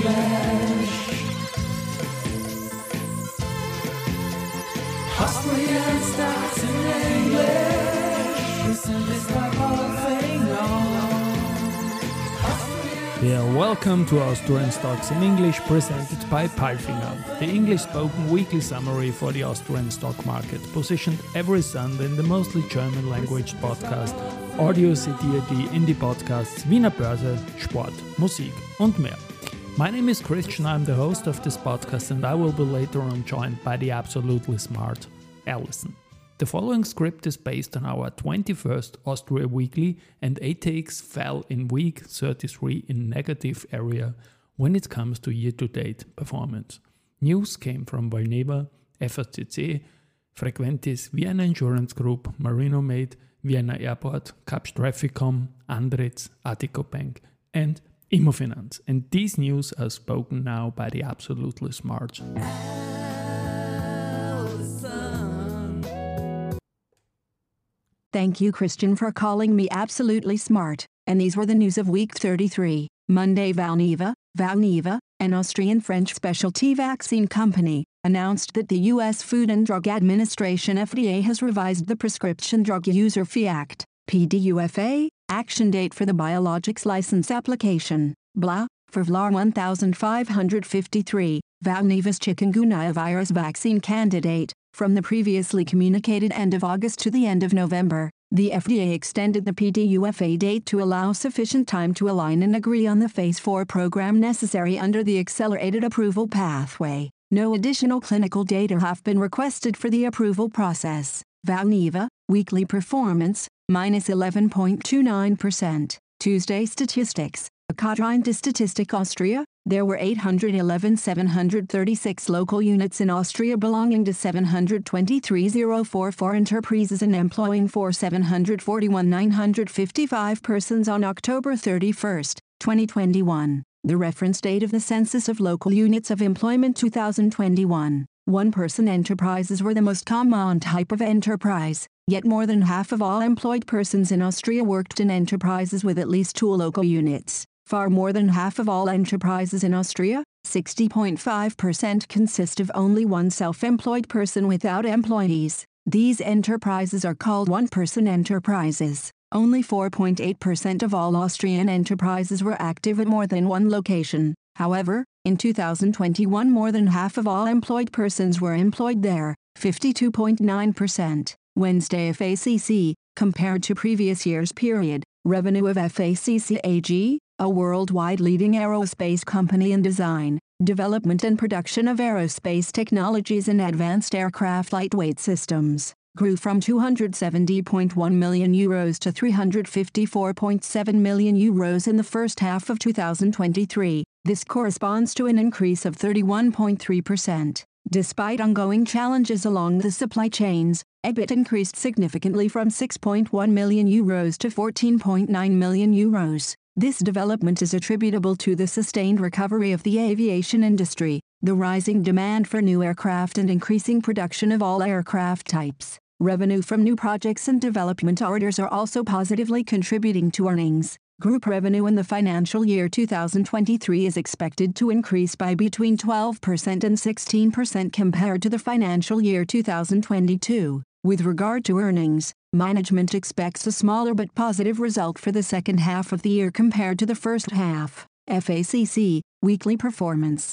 English. Austrian Stocks in English. Listen, this by Yeah, welcome to Austrian Stocks in English, presented by Palfinger, the English-spoken weekly summary for the Austrian stock market, positioned every Sunday in the mostly German-language podcast Audio CD in die Podcasts Wiener Börse, Sport, Musik und mehr. My name is Christian, I'm the host of this podcast, and I will be later on joined by the absolutely smart Alison. The following script is based on our 21st Austria Weekly, and ATX fell in week 33 in negative area when it comes to year-to-date performance. News came from Valneva, FACC, Frequentis, Vienna Insurance Group, Marinomed, Vienna Airport, Kapsch Trafficom, Andritz, Attico Bank, and Immofinanz. And these news are spoken now by the absolutely smart Thank you, Christian, for calling me absolutely smart. And these were the news of week 33. Monday, Valneva, an Austrian-French specialty vaccine company, announced that the U.S. Food and Drug Administration FDA has revised the Prescription Drug User Fee Act, PDUFA, action date for the biologics license application, blah, for VLAR 1553, Valneva's chikungunya virus vaccine candidate. From the previously communicated end of August to the end of November, the FDA extended the PDUFA date to allow sufficient time to align and agree on the Phase 4 program necessary under the accelerated approval pathway. No additional clinical data have been requested for the approval process. Valneva, weekly performance, minus 11.29%. Tuesday statistics, according to Statistik Austria, there were 811,736 local units in Austria belonging to 723,044 enterprises and employing 741,955 persons on October 31, 2021, the reference date of the Census of Local Units of Employment 2021. One-person enterprises were the most common type of enterprise, yet more than half of all employed persons in Austria worked in enterprises with at least 2 local units. Far more than half of all enterprises in Austria, 60.5%, consist of only one self-employed person without employees. These enterprises are called one-person enterprises. Only 4.8% of all Austrian enterprises were active at more than one location. However, in 2021 more than half of all employed persons were employed there, 52.9%. Wednesday, FACC, compared to previous year's period, revenue of FACC AG, a worldwide leading aerospace company in design, development and production of aerospace technologies and advanced aircraft lightweight systems, grew from €270.1 million to €354.7 million in the first half of 2023. This corresponds to an increase of 31.3%. Despite ongoing challenges along the supply chains, EBIT increased significantly from €6.1 million to €14.9 million. This development is attributable to the sustained recovery of the aviation industry, the rising demand for new aircraft and increasing production of all aircraft types. Revenue from new projects and development orders are also positively contributing to earnings. Group revenue in the financial year 2023 is expected to increase by between 12% and 16% compared to the financial year 2022. With regard to earnings, management expects a smaller but positive result for the second half of the year compared to the first half. FACC, weekly performance,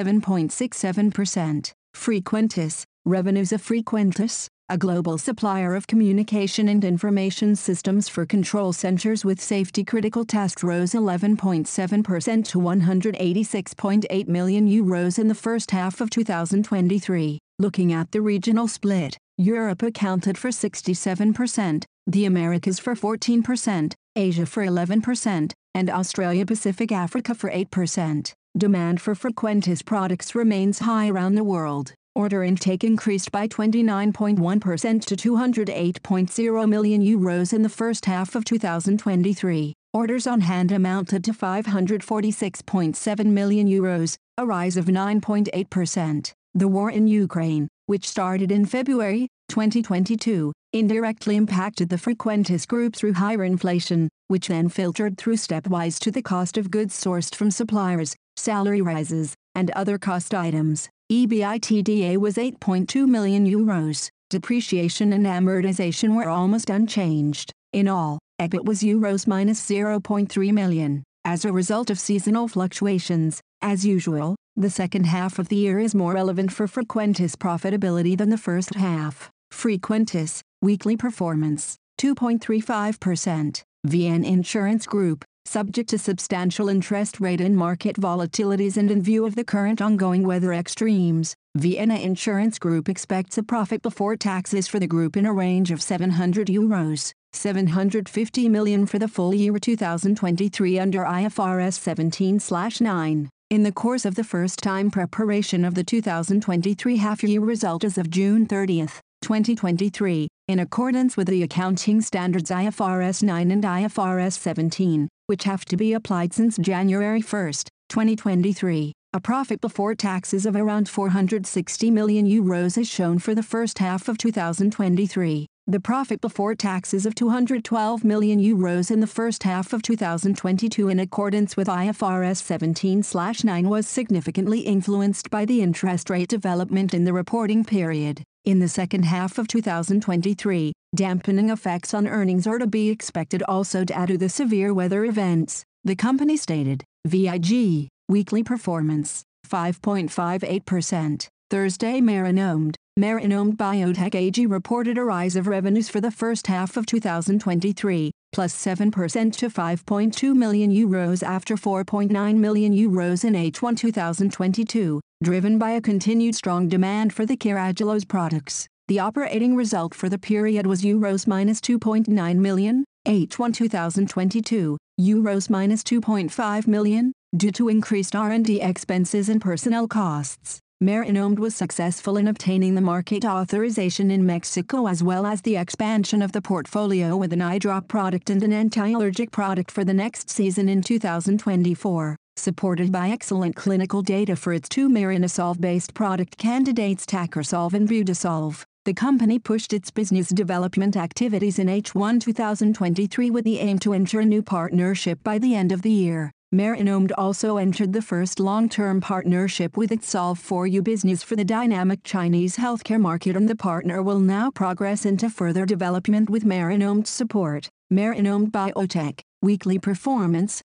7.67%. Frequentis, revenues of Frequentis, a global supplier of communication and information systems for control centers with safety-critical tasks, rose 11.7% to €186.8 million in the first half of 2023. Looking at the regional split, Europe accounted for 67%, the Americas for 14%, Asia for 11%, and Australia-Pacific Africa for 8%. Demand for Frequentis products remains high around the world. Order intake increased by 29.1% to €208.0 million in the first half of 2023. Orders on hand amounted to €546.7 million, a rise of 9.8%. The war in Ukraine, which started in February 2022, indirectly impacted the Frequentis Group through higher inflation, which then filtered through stepwise to the cost of goods sourced from suppliers, salary rises, and other cost items. EBITDA was €8.2 million. Depreciation and amortization were almost unchanged. In all, EBIT was €-0.3 million. As a result of seasonal fluctuations, as usual, the second half of the year is more relevant for Frequentis profitability than the first half. Frequentis, weekly performance, 2.35%. VN Insurance Group, subject to substantial interest rate and market volatilities and in view of the current ongoing weather extremes, Vienna Insurance Group expects a profit before taxes for the group in a range of €700, 750 million for the full year 2023 under IFRS 17/9. In the course of the first-time preparation of the 2023 half-year result as of June 30, 2023, in accordance with the accounting standards IFRS 9 and IFRS 17, which have to be applied since January 1, 2023, a profit before taxes of around €460 million is shown for the first half of 2023. The profit before taxes of €212 million in the first half of 2022 in accordance with IFRS 17/9 was significantly influenced by the interest rate development in the reporting period. In the second half of 2023, dampening effects on earnings are to be expected also due to the severe weather events, the company stated. VIG, weekly performance, 5.58%. Thursday Marinomed Biotech AG reported a rise of revenues for the first half of 2023, plus 7% to €5.2 million after €4.9 million in H1 2022, driven by a continued strong demand for the Carragelose products. The operating result for the period was €-2.9 million, H1 2022, €-2.5 million, due to increased R&D expenses and personnel costs. Marinomed was successful in obtaining the market authorization in Mexico as well as the expansion of the portfolio with an eye drop product and an anti-allergic product for the next season in 2024. Supported by excellent clinical data for its two Marinosolv-based product candidates Tacrosolv and Budesolv, the company pushed its business development activities in H1 2023 with the aim to enter a new partnership by the end of the year. Marinomed also entered the first long-term partnership with its Solv4U business for the dynamic Chinese healthcare market, and the partner will now progress into further development with Marinomed support. Marinomed Biotech, weekly performance,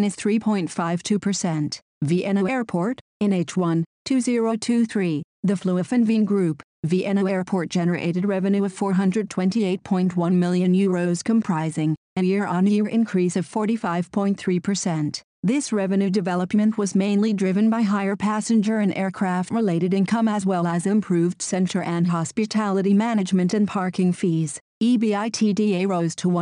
-3.52%. Vienna Airport, in H1 2023, the Fluofen Group, Vienna Airport generated revenue of €428.1 million comprising a year-on-year increase of 45.3%. This revenue development was mainly driven by higher passenger and aircraft-related income as well as improved center and hospitality management and parking fees. EBITDA rose to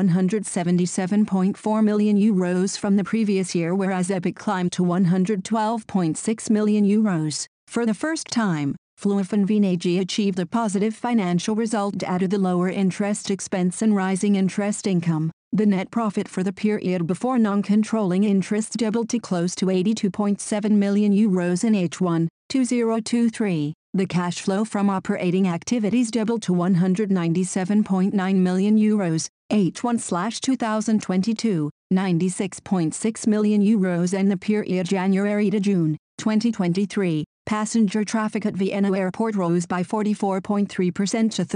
€177.4 million from the previous year, whereas EBIT climbed to €112.6 million. For the first time, Fluofen AG achieved a positive financial result due to the lower interest expense and rising interest income. The net profit for the period before non-controlling interest doubled to close to €82.7 million in H1 2023. The cash flow from operating activities doubled to €197.9 million, H1/2022, €96.6 million in the period January to June 2023. Passenger traffic at Vienna Airport rose by 44.3% to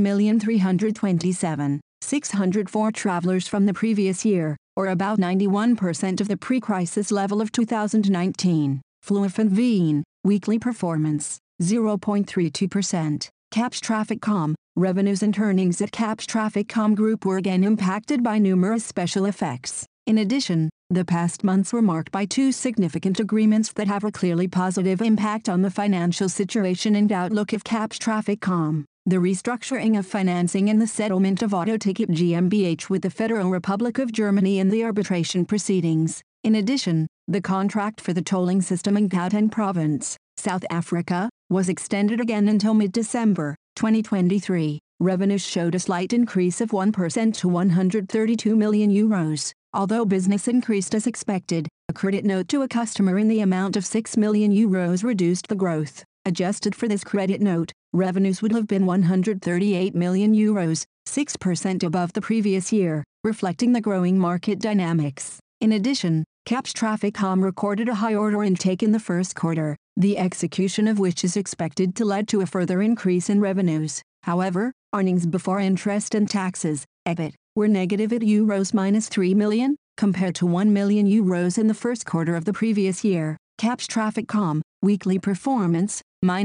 13,327,604 travelers from the previous year, or about 91% of the pre-crisis level of 2019. Fluofen Wien, weekly performance, 0.32%. CAPS Traffic.com, revenues and earnings at CAPS Traffic.com Group were again impacted by numerous special effects. In addition, the past months were marked by two significant agreements that have a clearly positive impact on the financial situation and outlook of CAPS Traffic.com. The restructuring of financing and the settlement of Autoticket GmbH with the Federal Republic of Germany in the arbitration proceedings. In addition, the contract for the tolling system in Gauteng Province, South Africa, was extended again until mid-December 2023. Revenues showed a slight increase of 1% to €132 million. Although business increased as expected, a credit note to a customer in the amount of €6 million reduced the growth. Adjusted for this credit note, revenues would have been €138 million, 6% above the previous year, reflecting the growing market dynamics. In addition, CAPS Trafficcom recorded a high order intake in the first quarter, the execution of which is expected to lead to a further increase in revenues. However, earnings before interest and taxes, EBIT, were negative at €-3 million, compared to €1 million in the first quarter of the previous year. CAPS Trafficcom, weekly performance,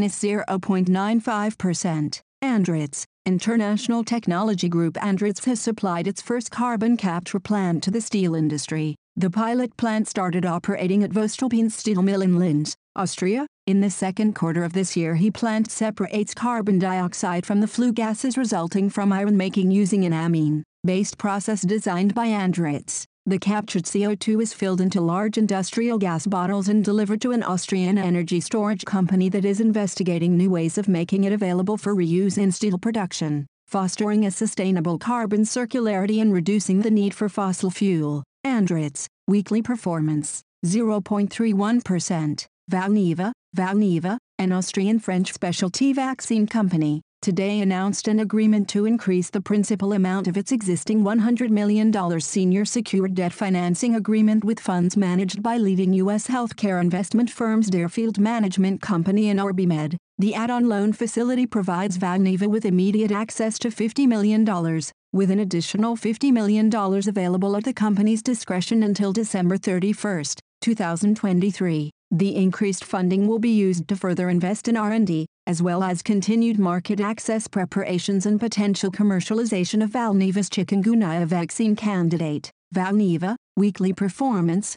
-0.95%. Andritz, International Technology Group. Andritz has supplied its first carbon capture plant to the steel industry. The pilot plant started operating at voestalpine Steel Mill in Linz, Austria. In the second quarter of this year, the plant separates carbon dioxide from the flue gases resulting from iron making using an amine-based process designed by Andritz. The captured CO2 is filled into large industrial gas bottles and delivered to an Austrian energy storage company that is investigating new ways of making it available for reuse in steel production, fostering a sustainable carbon circularity and reducing the need for fossil fuel. Andritz, weekly performance, 0.31%. Valneva, an Austrian-French specialty vaccine company, today announced an agreement to increase the principal amount of its existing $100 million senior secured debt financing agreement with funds managed by leading U.S. healthcare investment firms Deerfield Management Company and OrbiMed. The add-on loan facility provides Valneva with immediate access to $50 million, with an additional $50 million available at the company's discretion until December 31, 2023. The increased funding will be used to further invest in R&D, as well as continued market access preparations and potential commercialization of Valneva's chikungunya vaccine candidate. Valneva, weekly performance,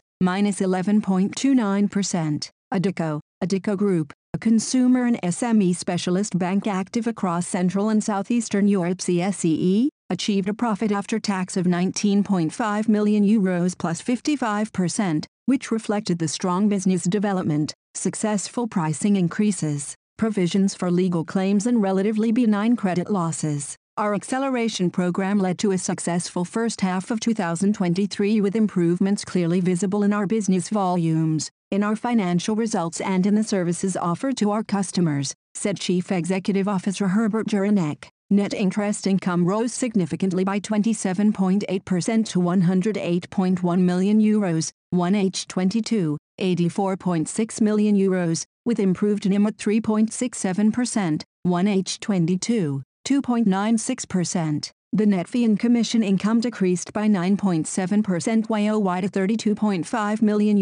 -11.29%. Addiko Group, a consumer and SME specialist bank active across Central and Southeastern Europe CSEE, achieved a profit after tax of €19.5 million plus 55%, which reflected the strong business development, successful pricing increases, provisions for legal claims and relatively benign credit losses. Our acceleration program led to a successful first half of 2023 with improvements clearly visible in our business volumes, in our financial results and in the services offered to our customers, said Chief Executive Officer Herbert Juranek. Net interest income rose significantly by 27.8% to €108.1 million, 1H22, €84.6 million, with improved NIM at 3.67%, 1H22, 2.96%. The net fee and commission income decreased by 9.7% YoY to €32.5 million,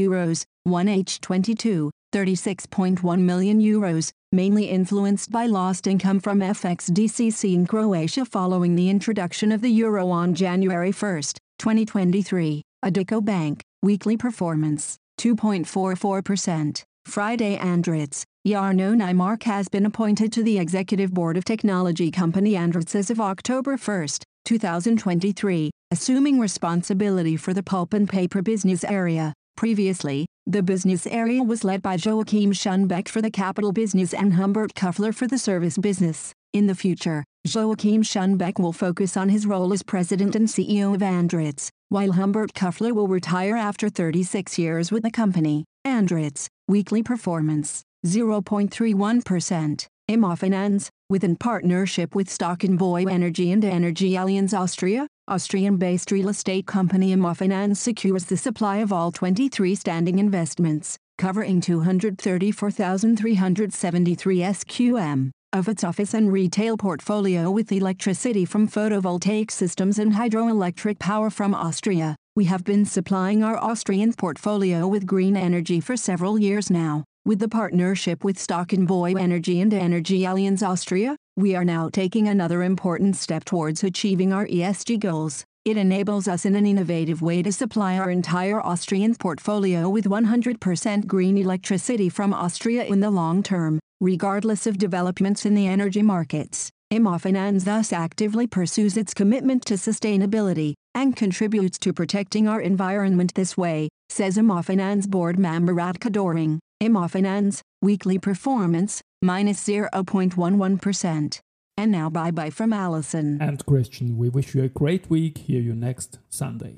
1H22, €36.1 million, mainly influenced by lost income from FXDCC in Croatia following the introduction of the euro on January 1, 2023. Addiko Bank, weekly performance, 2.44%. Friday. Andritz, Jarno Nymark has been appointed to the executive board of technology company Andritz as of October 1, 2023, assuming responsibility for the pulp and paper business area. Previously, the business area was led by Joachim Schunbeck for the capital business and Humbert Kuffler for the service business. In the future, Joachim Schunbeck will focus on his role as president and CEO of Andritz, while Humbert Kuffler will retire after 36 years with the company. Andritz, weekly performance, 0.31%. Immofinanz, within partnership with Stockenvoy Energy and Energy Allianz Austria, Austrian-based real estate company Immofinanz secures the supply of all 23 standing investments, covering 234,373 SQM, of its office and retail portfolio with electricity from photovoltaic systems and hydroelectric power from Austria. We have been supplying our Austrian portfolio with green energy for several years now. With the partnership with Stockenvoy Energy and Energy Allianz Austria, we are now taking another important step towards achieving our ESG goals. It enables us in an innovative way to supply our entire Austrian portfolio with 100% green electricity from Austria in the long term, regardless of developments in the energy markets. Immofinanz thus actively pursues its commitment to sustainability and contributes to protecting our environment this way, says Immofinanz board member Radka Doring. Immofinanz, weekly performance, -0.11%. And now bye-bye from Alison and Christian. We wish you a great week. Hear you next Sunday.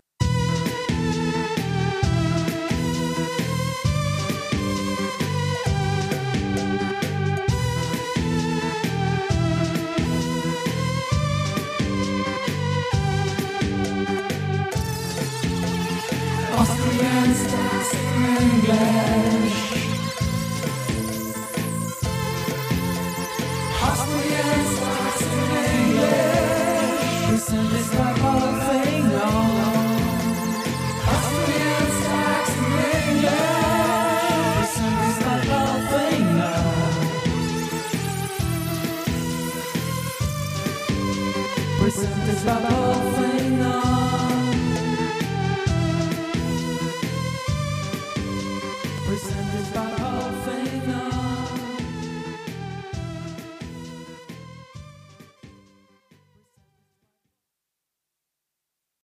English. Austrian starts in English. Presented by